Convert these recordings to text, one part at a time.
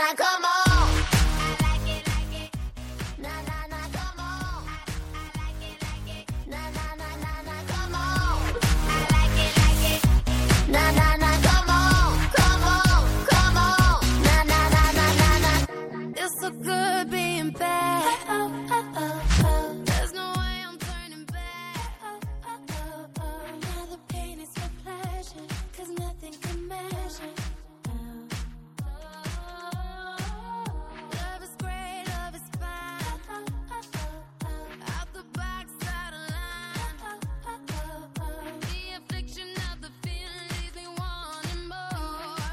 come on. I like it, na na na, come on. I like it, na na na na na, come on. I like it, na na na, come on, come on, come on, na na na na na na. It's so good being bad. There's no way I'm turning back. Now the pain is for pleasure, 'cause nothing can measure. Love is great, love is fine. Out the box, out of line. The affliction of the feeling leaves me wanting more.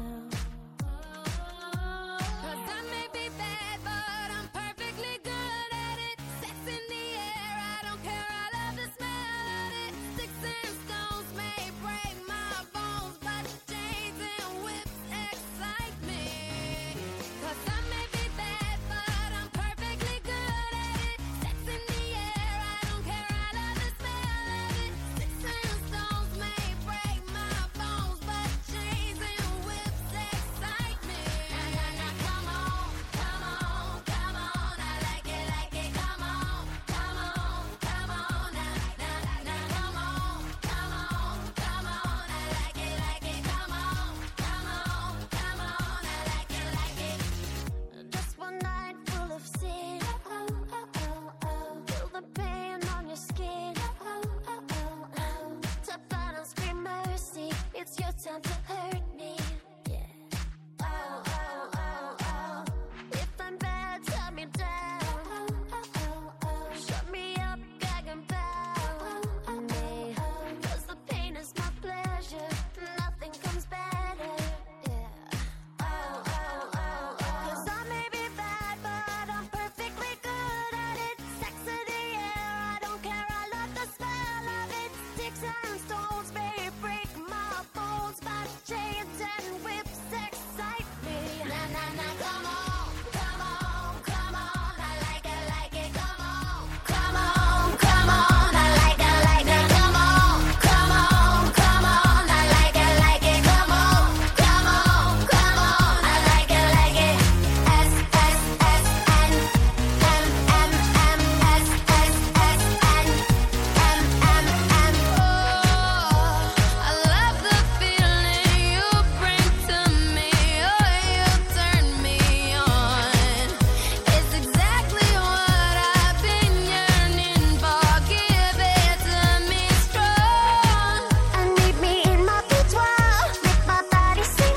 'Cause I may be bad, but I'm perfectly good at it. Sex in the air, I don't care, I love the smell of it. Sticks and stones may break my bones, but chains and whips excite me. 'Cause I may be bad, but I'm perfectly good at it. Sex in the air, I don't care, I love the smell of it. Sticks and stones may break my bones, but chains and whips excite me. Na na na, come on, come on, come on. I like it, come on, come on, come on. Na na na, come on, come on, come on. I like it, come on, come on, come on. I like it. Just one night full of sin. Feel the pain on your skin. Tap out and scream mercy. It's your time to hurt me. Yeah. Oh, oh, oh, oh. If I'm bad, turn me down. Shut me up, gag and bow me. 'Cause the pain is my pleasure. Nothing comes better. Yeah. Oh, oh, oh, oh. 'Cause I may be bad, but I'm perfectly good at it. Sex in the air, I don't care, I love the smell of it. Sticks and stones may break my bones, but chains and whips excite me. Na na na, come on, come on, come on. I like it, come on, come on, come on. I like it, come on, come on, come on. I like it, come on, come on, come on. I like it. S S S N M M M S S S N M M M. Oh, I love the feeling you bring to me. Oh, you turn me on. It's exactly what I've been yearning for. Give it to me strong. And meet me in my boudoir. Make my body sing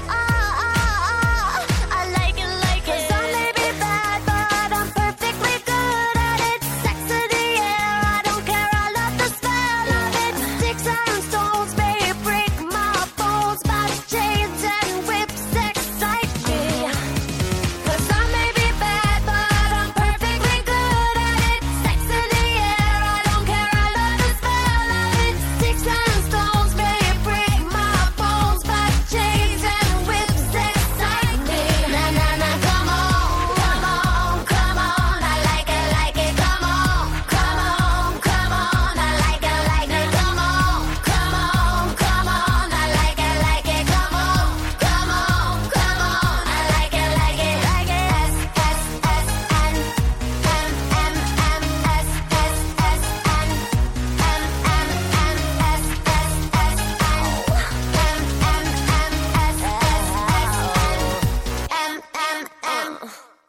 ah. I like it. 'Cause I may be bad, but I'm perfectly good at it. Sex in the air, I don't care, I love the smell of it. Sticks and stones may break my bones, but chains and whips excite me. 'Cause I may be bad, but I'm perfectly good at it. Sex in the air, I don't care, I love the smell of it. Sticks and stones may break my bones, but chains and whips excite me. Na na na, come on, come on, come on. I like it, come on, come on, come on. I like it, come on, come on, come on. I like it, come on, come on, come on. I like it. S S S N M M M S S S N M M M S S S N M M M S S S N M M M.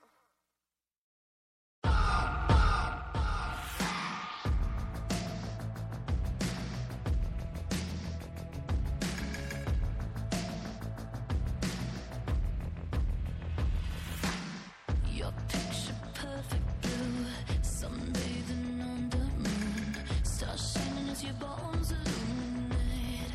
Your picture perfect blue, sunbathing on the moon, stars shining as your bones illuminate.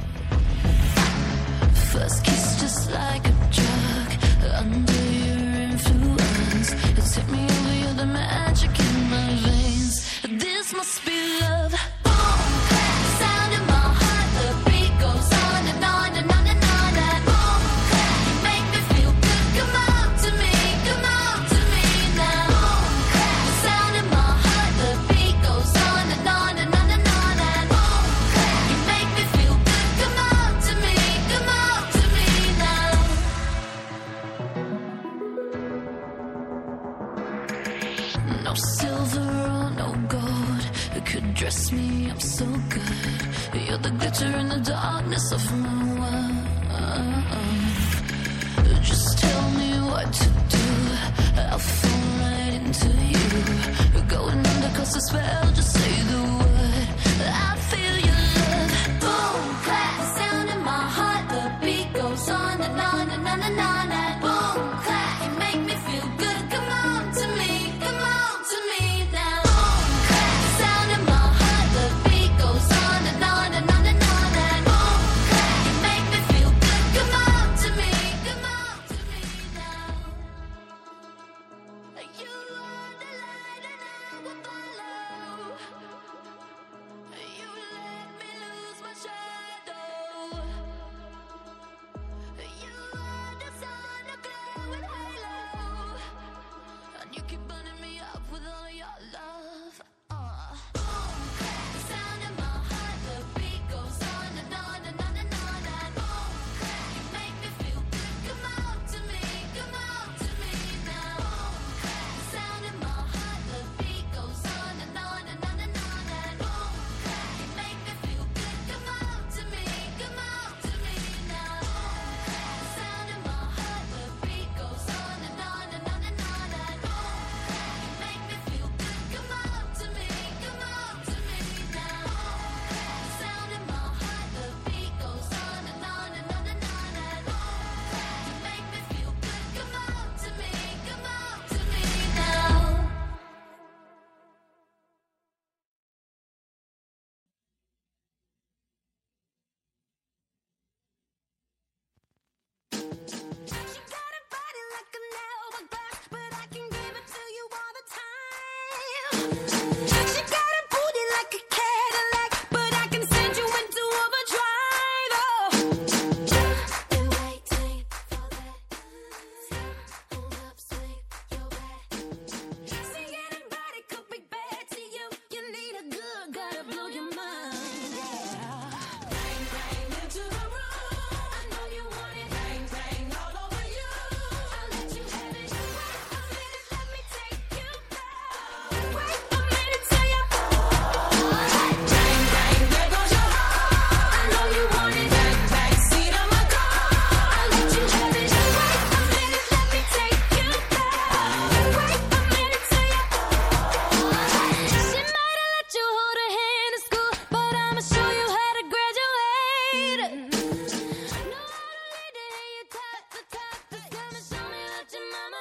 First kiss just like a drug, under your influence, it took me over, you're the magic in my veins. This must be love. Boom, clap, sound in my heart, the beat goes on and on and on and on. That boom, clap, you make me feel good. Come on to me now. Boom, clap, sound in my heart, the beat goes on and on and on and on. That boom, clap, you make me feel good. Come on to me No silver or no gold could dress me up so good. You're the glitter in the darkness of my world. Just tell me what to do, I'll fall right into you. Going under 'cause the spell, just say the word, I feel your love. Boom, clap, sound in my heart, the beat goes on and on and on and on. And boom, clap, you make me feel good. Come on to me, come on to me now. Boom, clap, sound in my heart, the beat goes on and on and on and on. And boom, clap, you make me feel good. Come on to me, come on to me now. You are the light and I will follow. You let me lose my shadow. You are the sun, a glowing halo, and you keep burning me up with all your love. Boom, clap, sound in my heart, the beat goes on and on and on and on. And boom, clap, you make me feel good. Come on to me now. Boom, clap, sound in my heart, the beat goes on and on and on and on. And boom, clap, you make me feel good. Come on to me now. Sound in my heart, the beat goes on and on and on and on. And boom, clap, you make me feel good. Come on to me now. Sound in my heart, the beat goes on and on and on and on. And boom, clap, you make me feel good. Come on to me now. She got a body like an hourglass, but I can give it to you all the time. She got a booty like a Cadillac, but I can send you into overdrive. Been waiting for that upswing, your back. See anybody could be bad to you. You need a good guy to blow your mind. Bang, bang into the room. I know you want it. Bang, bang all over you. I'll let you have it. Wait a minute, let me take you back. Wait a minute till you. Bang, bang, there goes your heart. I know you want it. Bang, bang, seat of my car. I'll let you have it. Wait a minute, let me take you back. Wait a minute till you. She might have let you hold her hand in school, but I'ma show you how to graduate. No, I don't need to hear you talk the talk. Just come and show me what your mama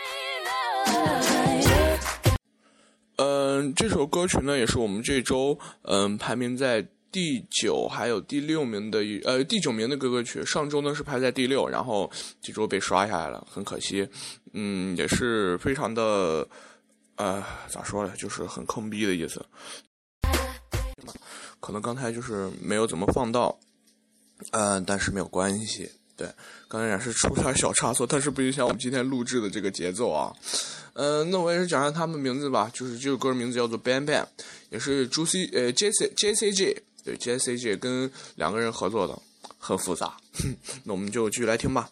gave. 这首歌曲呢，也是我们这周排名在第9还有第6名的第9名的歌曲。上周呢是排在第6，然后这周被刷下来了，很可惜。也是非常的咋说呢，就是很坑逼的意思。可能刚才就是没有怎么放到，但是没有关系。对，刚才也是出点小差错，但是不影响我们今天录制的这个节奏啊。那我也是讲下他们名字吧，就是这首歌名字叫做 Bang Bang， 也是JCG， 对 JCG 跟2个人合作的，很复杂。那我们就继续来听吧。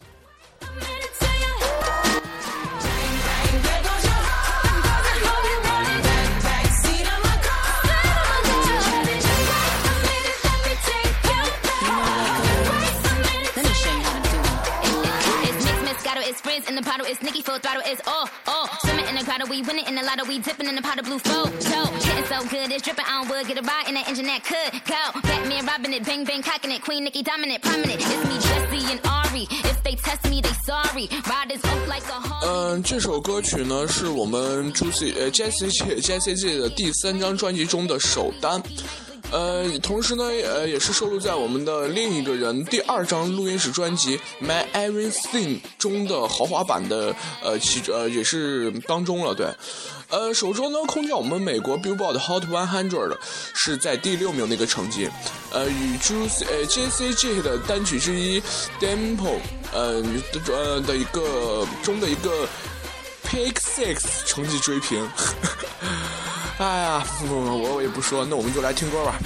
It's Frizz in the bottle, it's Nicki full throttle, it's swimming in the grotto, we winning in the lotto, we dipping in the pot of blue photo. Getting so good, it's dripping on wood, get a ride in that engine that could go. Batman robbing it, bang bang cocking it, Queen Nicki dominant, prominent. It's me, Jessie and Ari. If they test me, they sorry. Riders up like a Harley. 这首歌曲呢是我们JCG 的第3张专辑中的首单。同时呢，也是收录在我们的另一个人第2张录音室专辑《My Everything》中的豪华版的也是当中了。对，首周呢空降我们美国 Billboard Hot 100是在第6名的一个成绩，与JCG 的单曲之一 Tempo 的一个中的一个 Pick 6成绩追平。哎呀，我也不说，那我们就来听歌吧。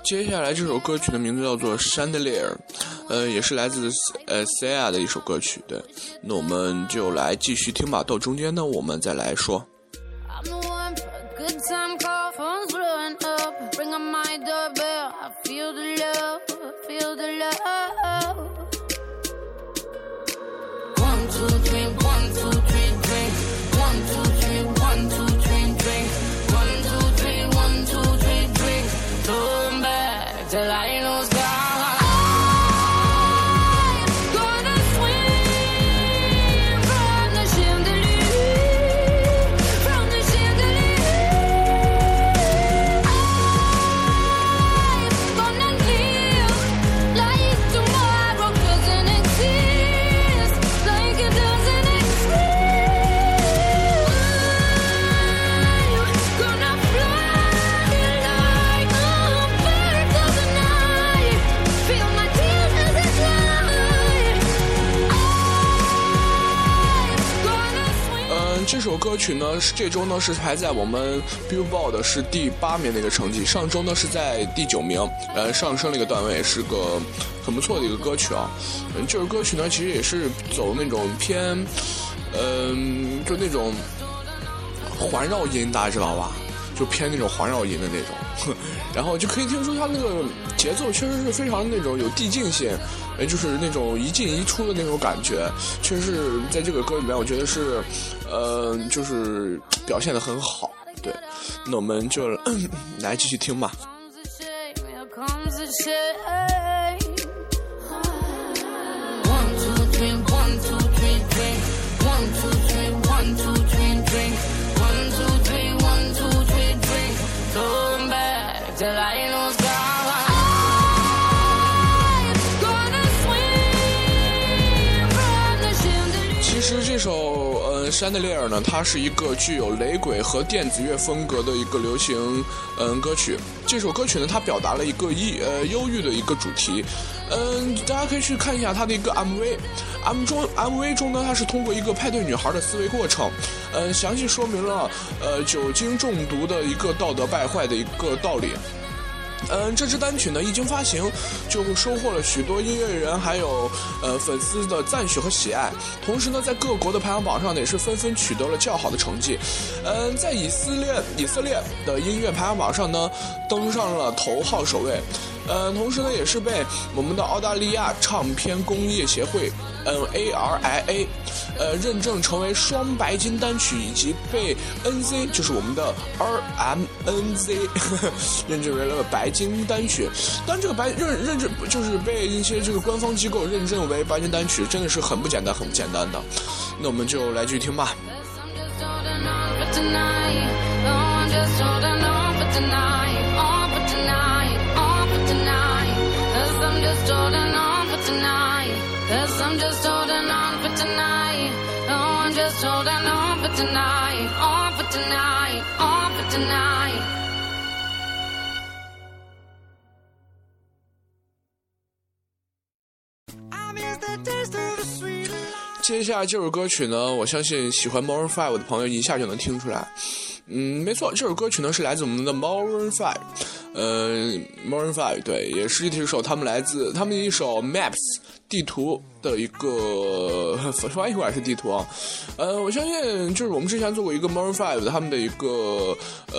接下来这首歌曲的名字叫做 Chandelier， 也是来自Sia 的一首歌曲。对，那我们就来继续听吧，到中间呢我们再来说。 I'm the one for a good time call, phone's blowing up. Ring on my doorbell, I feel the love, feel the love. 1, 2, 3, 1, 2, 3, drink. 1, 2, 3, 1, 2, 3, drink. 1, 2, 3, 1, 2, 3, drink. Turn back till I lose God. 这首歌曲呢，这周呢是排在我们 Billboard 是第8名的一个成绩，上周呢是在第9名，上升了一个段位，是个很不错的一个歌曲啊。这首歌曲呢其实也是走那种偏，就那种环绕音，大家知道吧？就偏那种环绕音的那种，然后就可以听出它那个节奏确实是非常那种有递进性，就是那种一进一出的那种感觉，确实是在这个歌里面，我觉得是，就是表现得很好。对，那我们就来继续听吧。其实这首Chandelier 呢，它是一个具有雷鬼和电子乐风格的一个流行歌曲。这首歌曲呢，它表达了一个忧郁的一个主题。大家可以去看一下它的一个 MV 中呢，它是通过一个派对女孩的思维过程，详细说明了酒精中毒的一个道德败坏的一个道理。这支单曲呢一经发行，就收获了许多音乐人还有粉丝的赞许和喜爱。同时呢，在各国的排行榜上呢也是纷纷取得了较好的成绩。在以色列的音乐排行榜上呢登上了头号首位。同时呢也是被我们的澳大利亚唱片工业协会ARIA 认证成为双白金单曲，以及被 NZ 就是我们的 RMNZ 认证为了白金单曲。但这个认证就是被一些这个官方机构认证为白金单曲，真的是很不简单的。那我们就来继续听吧。 Just holding on for tonight, 'cause I'm just holding on for tonight. Oh, I'm just holding on for tonight, on for tonight, on for tonight. 接下来这首歌曲呢，我相信喜欢 Maroon 5的朋友一下就能听出来。没错，这首歌曲呢是来自我们的 Maroon 5。Maroon 5对，也是一首他们的一首 Maps 地图的一个翻译过来是地图啊。我相信就是我们之前做过一个 Maroon 5他们的一个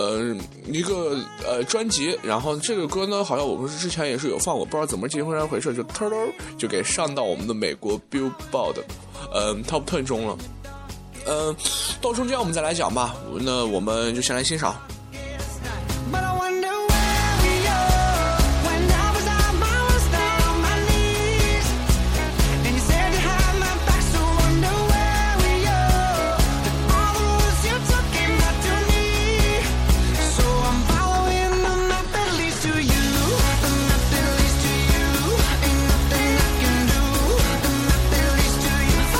专辑，然后这个歌呢好像我们之前也是有放过，不知道怎么这回事就就给上到我们的美国 Billboard Top 10中了。到中间我们再来讲吧，那我们就先来欣赏。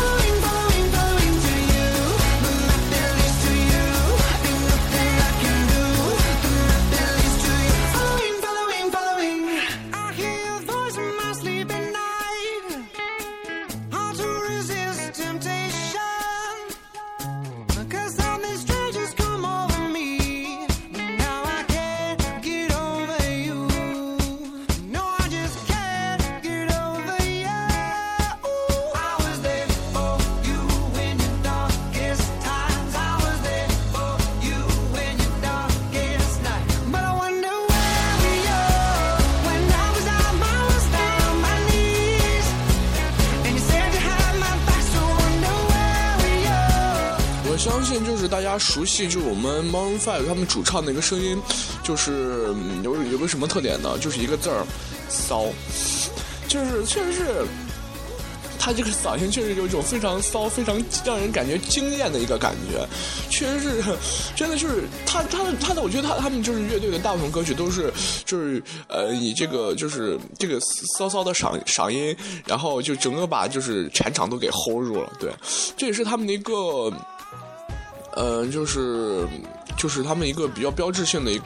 Can 信就是大家熟悉，就是我们 Maroon 5他们主唱的一个声音，就是有个什么特点呢？就是一个字儿，骚，就是确实是。他这个嗓音确实有一种非常骚、非常让人感觉惊艳的一个感觉，确实是，真的就是他的，我觉得他们就是乐队的大部分歌曲都是就是以这个就是这个骚骚的嗓音，然后就整个把就是全场都给 hold 住了，对，这也是他们的一个就是他们一个比较标志性的一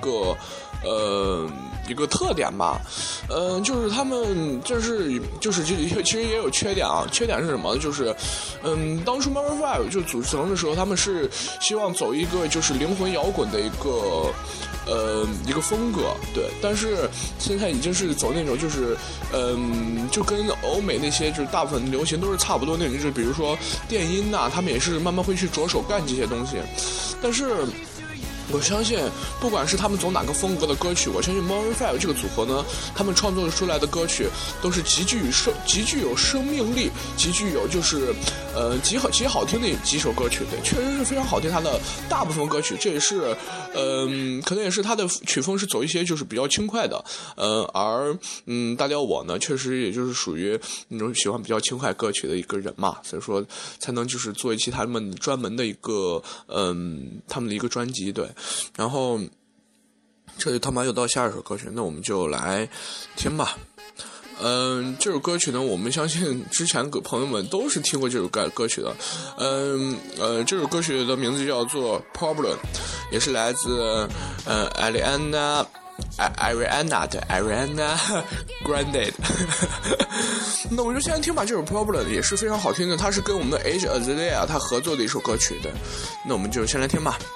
个特点吧，就是他们就是其实也有缺点啊，缺点是什么？就是当初 Maroon 5就组成的时候，他们是希望走一个就是灵魂摇滚的一个风格，对，但是现在已经是走那种就是就跟欧美那些就是大部分流行都是差不多那种，就是比如说电音呐，他们也是慢慢会去着手干这些东西，但是我相信不管是他们走哪个风格的歌曲，我相信 Maroon 5这个组合呢，他们创作出来的歌曲都是极具有生命力，极具有就是极好听的几首歌曲，对，确实是非常好听。他的大部分歌曲，这也是可能也是他的曲风是走一些就是比较轻快的，而大雕我呢，确实也就是属于那种喜欢比较轻快歌曲的一个人嘛，所以说才能就是做一期他们专门的一个他们的一个专辑，对。然后这里他妈又到下一首歌曲，那我们就来听吧。这首歌曲呢，我们相信之前朋友们都是听过这首歌曲的。这首歌曲的名字叫做 Problem， 也是来自Ariana Grande 那我就先听吧，这首 Problem 也是非常好听的，它是跟我们的 Iggy Azalea 他合作的一首歌曲的，那我们就先来听吧。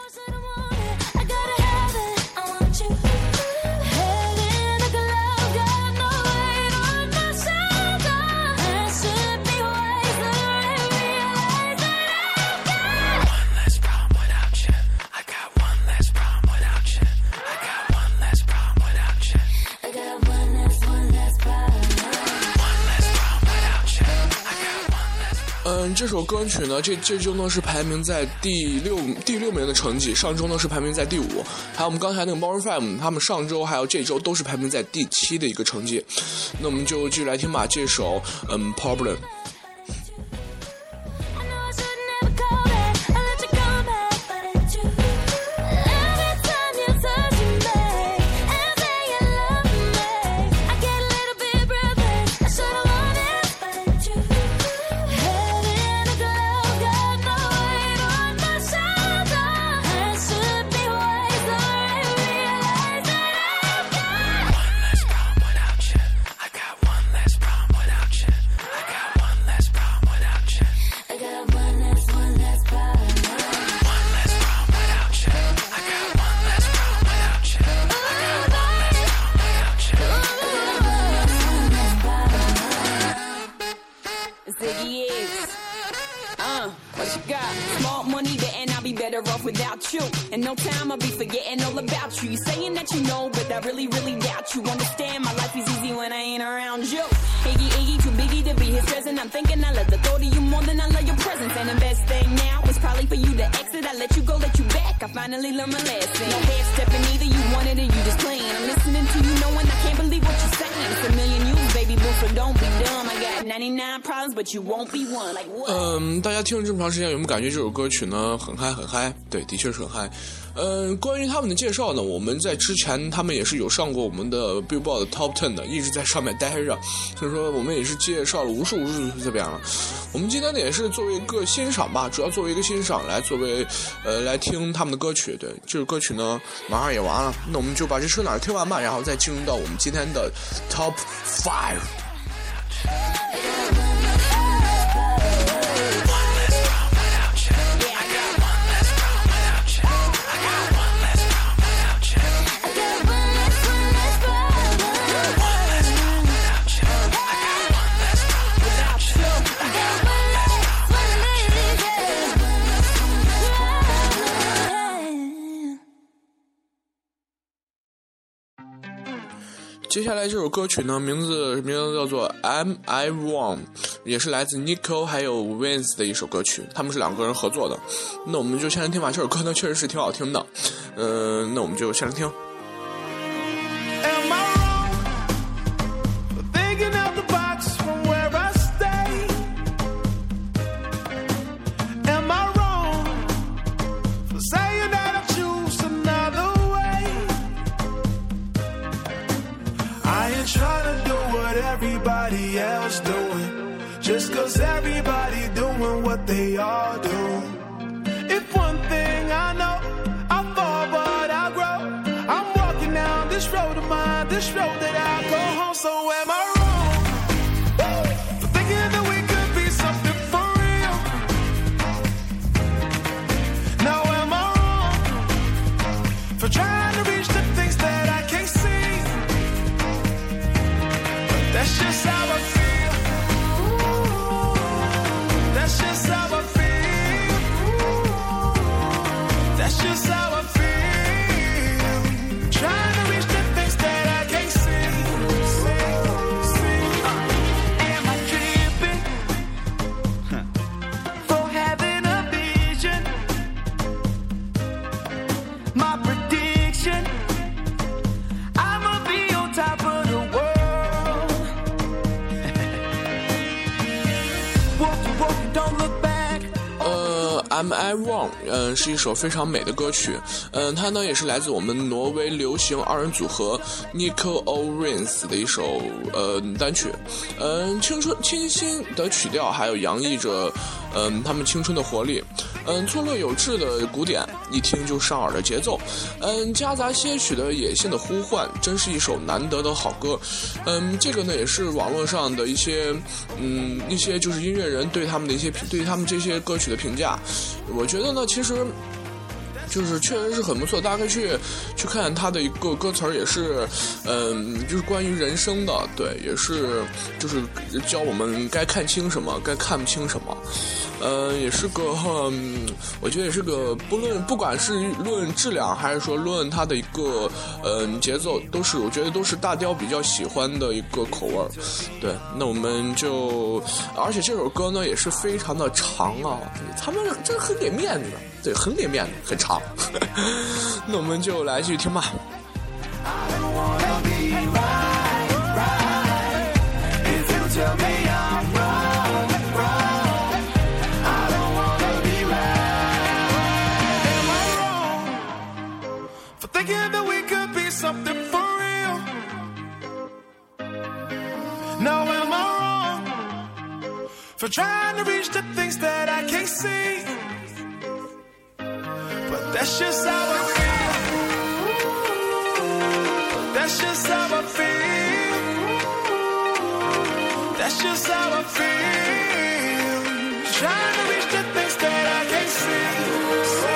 这首歌曲呢，这周呢是排名在第六名的成绩，上周呢是排名在第5，还有我们刚才那个 Maroon 5，他们上周还有这周都是排名在第7的一个成绩。那我们就继续来听吧，这首Problem。 Without you, in no time I'll be forgetting all about you. You saying that you know, but I really, really doubt you. Understand my life is easy when I ain't around you. Iggy, too biggie to be his present. I'm thinking I love the thought of you more than I love your presence. And the best thing now is probably for you to exit. I let you go, let you back. I finally learned my lesson. No half stepping either, you wanted it, you just playing. I'm listening to you knowing I can't believe what you're saying. It's a million you, baby boo, so don't be dumb. I got 99 problems, but you won't be one. Like what? 大家听了这么长时间，有没有感觉这首歌曲呢很嗨很嗨？对，的确是很嗨。关于他们的介绍呢，我们在之前他们也是有上过我们的 Billboard 的 Top 10的，一直在上面待着，所以说我们也是介绍了无数这边了。我们今天呢也是作为一个欣赏吧，主要作为一个欣赏来作为来听他们的歌曲。对，这首歌曲呢马上也完了，那我们就把这首哪听完吧，然后再进入到我们今天的 Top 5。 接下来这首歌曲呢，名字叫做 Am I Wrong， 也是来自 Nico 还有 Vince 的一首歌曲，他们是2个人合作的。那我们就先来听吧，这首歌呢确实是挺好听的。那我们就先来听。 Everybody else doing, just cause everybody doing what they all do. If one thing I know, I fall but I grow. I'm walking down this road of mine, this road that I go home. So am I wrong for thinking that we could be something for real? Now am I wrong for trying to reach the things that I can't see? That's just how I feel. That's just how I feel. That's just how I feel. Trying to reach the things that I can't see. Am I tripping for having a vision? My prediction, I'ma be on top of the world. Am I Wrong 是一首非常美的歌曲。它呢也是来自我们挪威流行2人组合 Nico Vince 的一首单曲。清新的曲调，还有洋溢着他们青春的活力。错落有致的鼓点，一听就上耳的节奏。夹杂些许的野性的呼唤，真是一首难得的好歌。这个呢也是网络上的一些就是音乐人对他们这些歌曲的评价。我觉得呢，其实就是确实是很不错，大家可以去看他的一个歌词，也是就是关于人生的，对，也是就是教我们该看清什么，该看不清什么。也是个我觉得也是个不管是论质量还是说论它的一个节奏，我觉得都是大雕比较喜欢的一个口味。对，那我们就，而且这首歌呢也是非常的长啊，他们这很给面子，对，很给面子，很长。那我们就来继续听吧。 Thinking that we could be something for real. Now am I wrong for trying to reach the things that I can't see? But that's just how I feel. That's just how I feel. That's just how I feel. Trying to reach the things that I can't see.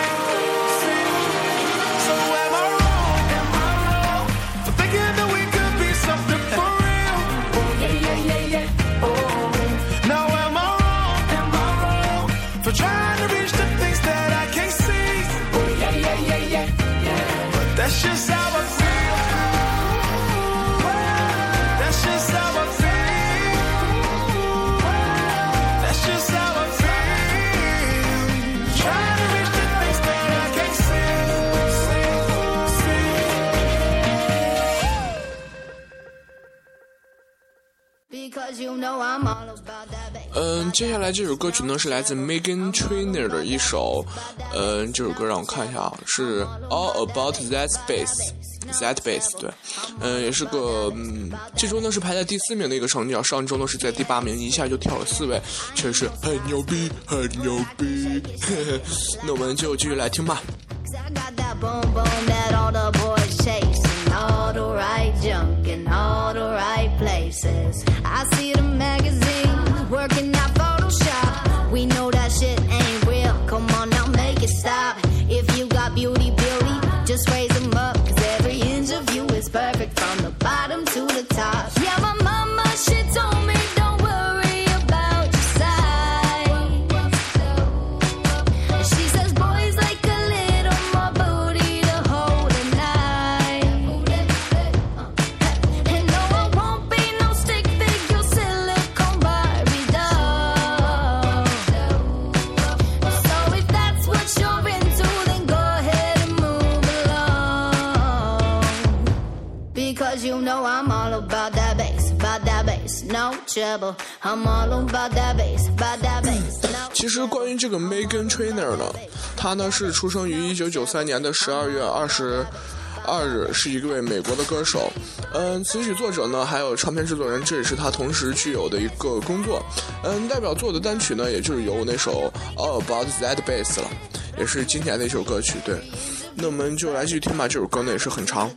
So am I wrong? Am I wrong for thinking that we could be something for real? Oh yeah. Oh. Now am I wrong? Am I wrong for trying to reach the things that I can't see? Oh yeah. But that's just how I feel. That's just how I feel. That's just how I feel. Trying to reach the things that I can't see. Because you know I'm all about that, baby. 接下来这首歌曲呢是来自 Meghan Trainor 的一首，这首歌让我看一下啊，是 All About That Bass，对，也是个这周呢是排在第4名的一个成绩啊，上周呢是在第8名，一下就跳了4位，确实很牛逼，很牛逼。那我们就继续来听吧。 I got that boom boom that all the boys chasing, all the right junk in all the right places. I see the magazines working out Photoshop. We know that shit ain't real. Come on now, make it stop. If you got beauty, just raise them up. 'Cause every inch of you is perfect from the bottom to the top. Yeah, my mama, she told me don't worry about your size. She says boys like a little more booty to hold. you know I'm all about that bass, no trouble. I'm all about that bass, no. 其实关于这个 Meghan Trainor 呢，她呢是出生于1993年的12月22日，是一位美国的歌手。词曲作者呢，还有唱片制作人，这也是他同时具有的一个工作。代表作的单曲呢，也就是有那首 All About That Bass 了，也是经典的一首歌曲。对，那我们就来继续听吧，这首歌呢也是很长。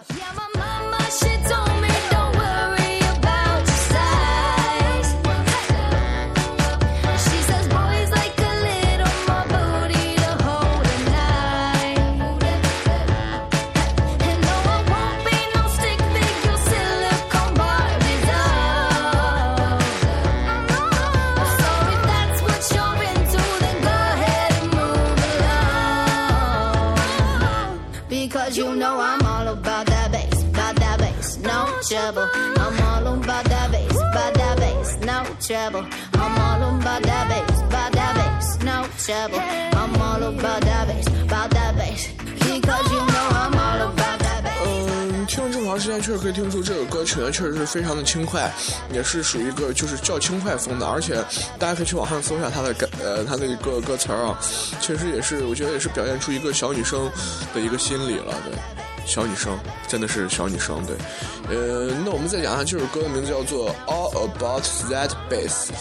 Because you know I'm all about that bass, no trouble. I'm all about that bass, no trouble. I'm all about that bass, no trouble. I'm all about that bass, because you know I'm all about that bass. 听了这么长时间，确实可以听出这首歌曲呢，确实是非常的轻快，也是属于一个就是较轻快风的，而且大家可以去网上搜一下它的一个歌词啊，确实也是我觉得也是表现出一个小女生的一个心理了，对，小女生真的是小女生，对，那我们再讲一下这首歌的名字叫做 All About That Bass，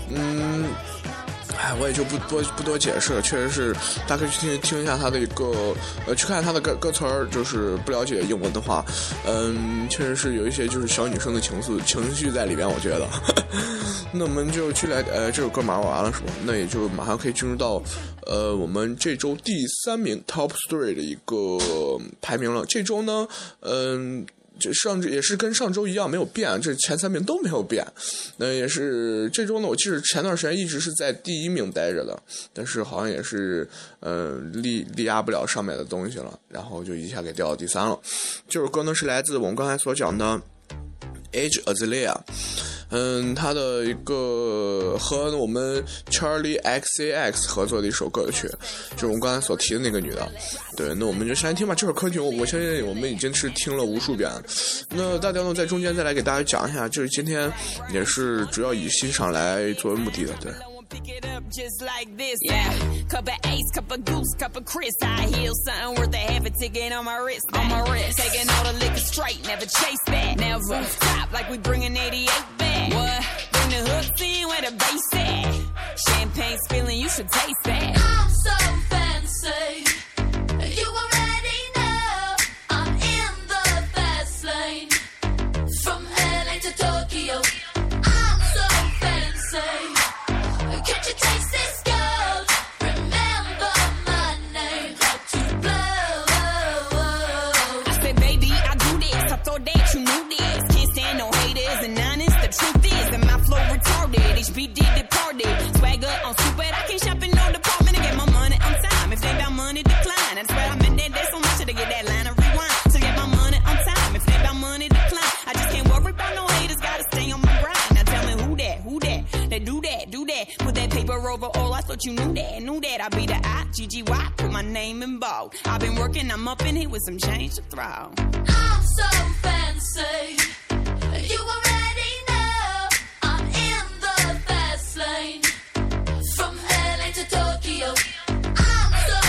我也就不多解释了，确实是大家可以去听一下他的一个去看他的歌词儿，就是不了解英文的话，确实是有一些就是小女生的情绪在里边，我觉得。那我们就去来这首歌马上完了是吧？那也就马上可以进入到我们这周第3名 Top 3的一个排名了。这周呢，也是跟上周一样没有变，这前3名都没有变。也是这周呢，我记得前段时间一直是在第1名待着的，但是好像也是力压不了上面的东西了，然后就一下给掉到第3了。这首歌呢是来自我们刚才所讲的 Iggy Azalea。他的一个和我们 Charlie XCX 合作的一首歌曲，就是我们刚才所提的那个女的。对，那我们就先来听吧。这首歌曲我相信我们已经是听了无数遍了。那大家呢在中间再来给大家讲一下，就是今天也是主要以欣赏来作为目的的，对。 Pick it up just like this, yeah. Cup of Ace, cup of Goose, cup of Chris. I heal something worth a half a ticket on my wrist. Taking all the liquor straight, never chase that. Never stop like we bringing 88 back. What? Bring the hooks in where the bass at. Champagne spilling, you should taste that. I'm so fancy. You already know I'm in the fast lane. From LA to Tokyo, I'm so fancy.Can't you taste this gold? Remember my name, how to blow. I said, baby, I do this. I thought that you knew this. Can't stand no haters and honest. The truth is that my flow retarded. HBD departed. Swagger on stupid. I can't shop in no department to get my money on time. If they about money, decline. That's where I'm in that. There's so much to get that line of rewind. To get my money on time. If they about money, decline. I just can't worry about no haters. Gotta stay on my grind. Now tell me who that? They do that. Put that paper over all. I thought you knew that. I be the I-G-G-Y. Put my name in bold. I've been working, I'm up in here with some change to throw. I'm so fancy. You already know I'm in the fast lane. From LA to Tokyo, I'm so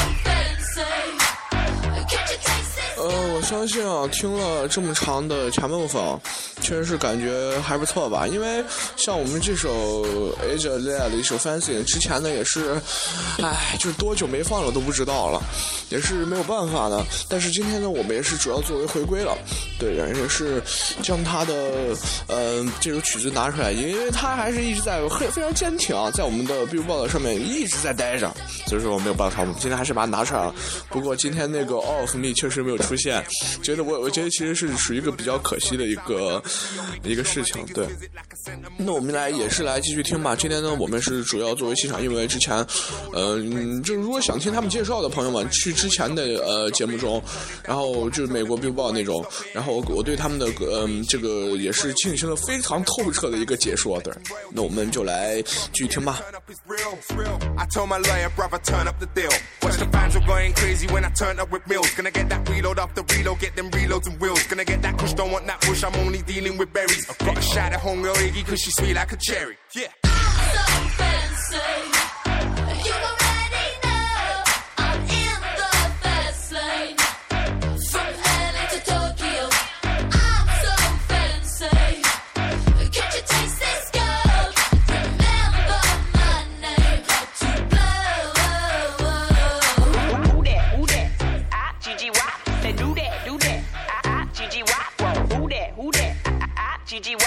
fancy. Can't you taste this? 我相信啊，听了这么长的前面风，确实是感觉还不错吧。因为像我们这首 Iggy Azalea 的一首 Fancy， 之前呢也是，就是多久没放了都不知道了，也是没有办法的。但是今天呢，我们也是主要作为回归了，对，也是将他的这首曲子拿出来，因为他还是一直在非常坚挺啊，在我们的 Billboard 上面一直在待着，所以说我没有办法，我们今天还是把它拿出来了。不过今天那个 All of Me 确实没有出现，我觉得其实是属于一个比较可惜的一个一个事情。对，那我们也是来继续听吧。今天呢，我们是主要作为现场，因为之前，就是如果想听他们介绍的朋友们，去之前的节目中，然后就是美国 Billboard 那种，然后我对他们的这个也是进行了非常透彻的一个解说的。那我们就来继续听吧。 I told my lawyer, brother, turn up the deal. Watch the fans were going crazy when I turned up with meals. Gonna get that reload after reload, get them reloads and wheels. Gonna get that kush, don't want that push, I'm only dealing with berries. Got a shot at homegirl Iggy, cause she's sweet like a cherry. Yeah. So fancy. You already know I'm in the fast lane. From LA to Tokyo, I'm so fancy. Can't you taste this gold? Remember my name to blow. Who that? GGY. Say do that. GGY. Who that? GGY.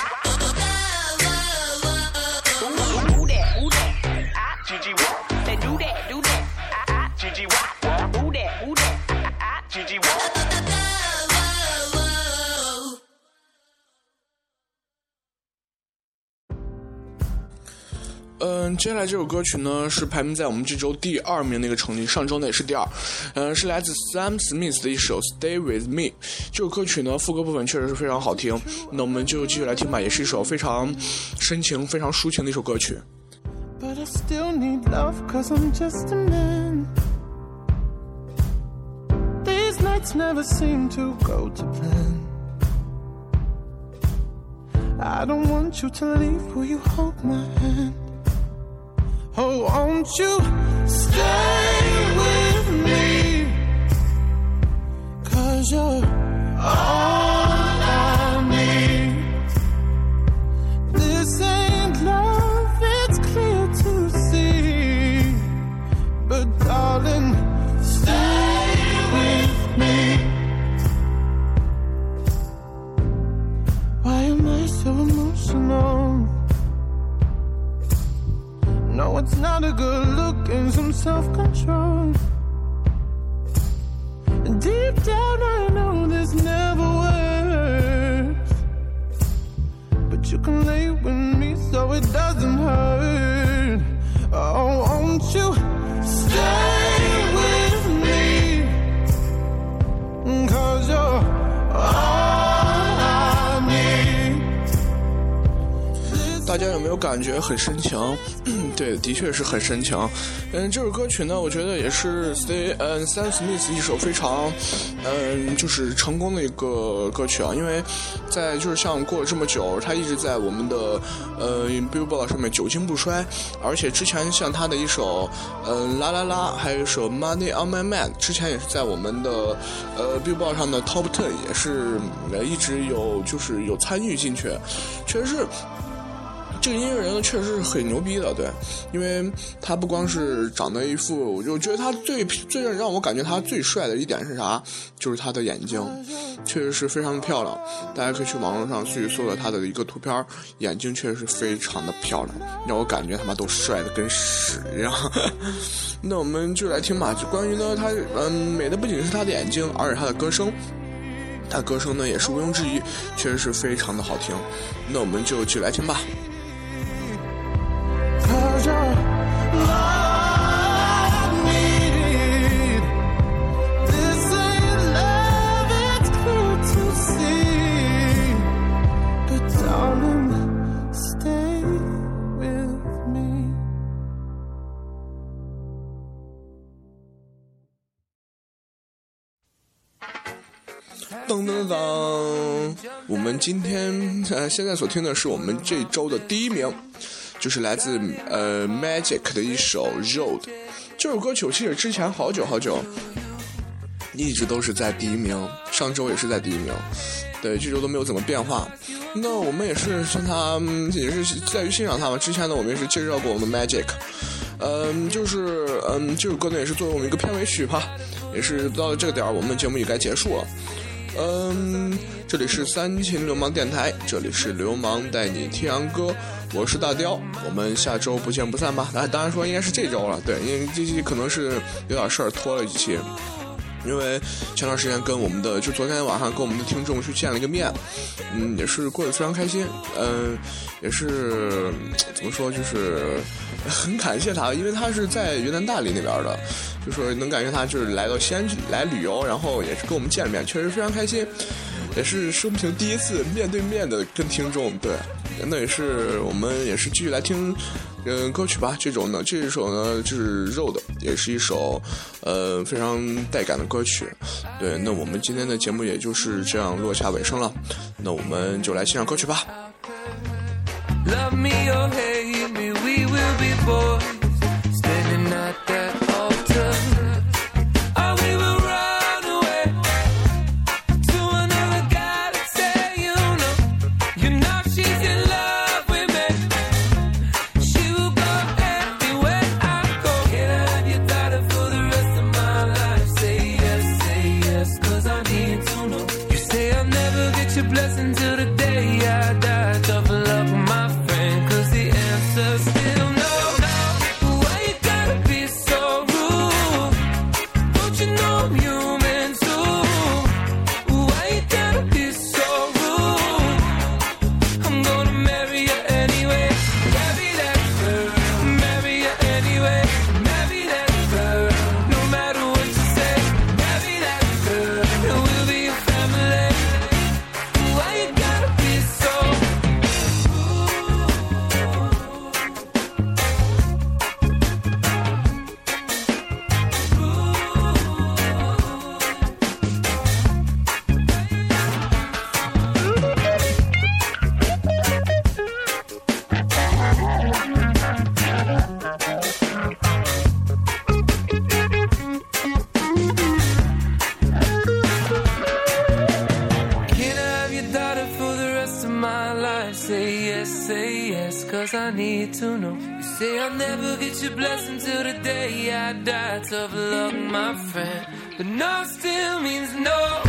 Who that? GGY. Say do that. GGY. Who that? GGY. 接下来这首歌曲呢是排名在我们这周第2名的一个成绩，上周呢也是第2，是来自 Sam Smith 的一首 Stay With Me。这首歌曲呢副歌部分确实是非常好听，那我们就继续来听吧，也是一首非常深情、非常抒情的一首歌曲。 But I still need love, cause I'm just a man. These nights never seem to go to plan. I don't want you to leave, will you hold my hand? Oh, won't you stay with me? Cause you're all I need. This ain't love, it's clear to see. But darling, stay with me. Why am I so emotional? No, it's not a good look and some self-control. Deep down I know this never works, but you can lay with me so it doesn't hurt. Oh, won't you stay with me? Cause you're all I need. 大家有没有感觉很深情？对，的确是很深情。这首歌曲呢，我觉得也是Sam Smith 一首非常就是成功的一个歌曲啊，因为在就是像过了这么久，他一直在我们的Billboard 上面久经不衰，而且之前像他的一首啦啦啦，还有一首 Money on My Mind， 之前也是在我们的Billboard 上的 Top 10也是一直有参与进去，确实是。这个音乐人呢，确实是很牛逼的，对，因为他不光是长得一副，我觉得他最让我感觉他最帅的一点是啥？就是他的眼睛，确实是非常的漂亮。大家可以去网络上去搜到他的一个图片，眼睛确实是非常的漂亮，让我感觉他妈都帅的跟屎一样。那我们就来听吧，就关于呢，他美的不仅是他的眼睛，而且他的歌声。他的歌声呢也是毋庸置疑，确实是非常的好听。那我们就继续来听吧。 Cause you're all I need. This ain't love, it's clear to see. But darling, stay with me. 噔噔噔！我们今天现在所听的是我们这周的第1名。就是来自Magic 的一首 Road。 这首歌曲其实之前好久一直都是在第1名，上周也是在第1名，对，这周都没有怎么变化。那我们也是像他也是在于欣赏他们。之前呢我们也是介绍过我们 Magic， 这首歌呢也是作为我们一个片尾曲吧，也是到了这个点我们节目也该结束了。这里是三秦流氓电台，这里是流氓带你听洋歌，我是大雕，我们下周不见不散吧。当然说应该是这周了，对，因为这期可能是有点事儿拖了一期。 因为前段时间跟我们的，就昨天晚上跟我们的听众去见了一个面，也是过得非常开心，也是怎么说，就是很感谢他，因为他是在云南大理那边的，就说能感觉他就是来到西安来旅游，然后也是跟我们见了面，确实非常开心，也是生平第一次面对面的跟听众，对，那也是我们也是继续来听歌曲吧。这首呢就是Road，也是一首非常带感的歌曲。对，那我们今天的节目也就是这样落下尾声了，那我们就来欣赏歌曲吧。 Love me or hate me, we will be boys standing at that altar. Or we will run away to another guy that say you know she's in love with me. She will go anywhere I go. Can I have your daughter for the rest of my life? Say yes, cause I need to know. You say I'll never get your blessing till the day I die. Tough love with my friend, cause the answer's still no. Why you gotta be so rude? Don't you know I'm human too? Why you gotta be so rude? I'm gonna marry you anyway. Marry that girl, marry you anyway. Marry that girl, no matter what you say. Marry that girl, and we'll be a family. Why you gotta be so Can I have your daughter for the rest of my life? Say yes, cause I need to know. You say I'll never get your blessing till the day I die. Tough luck, my friend, but no still means no.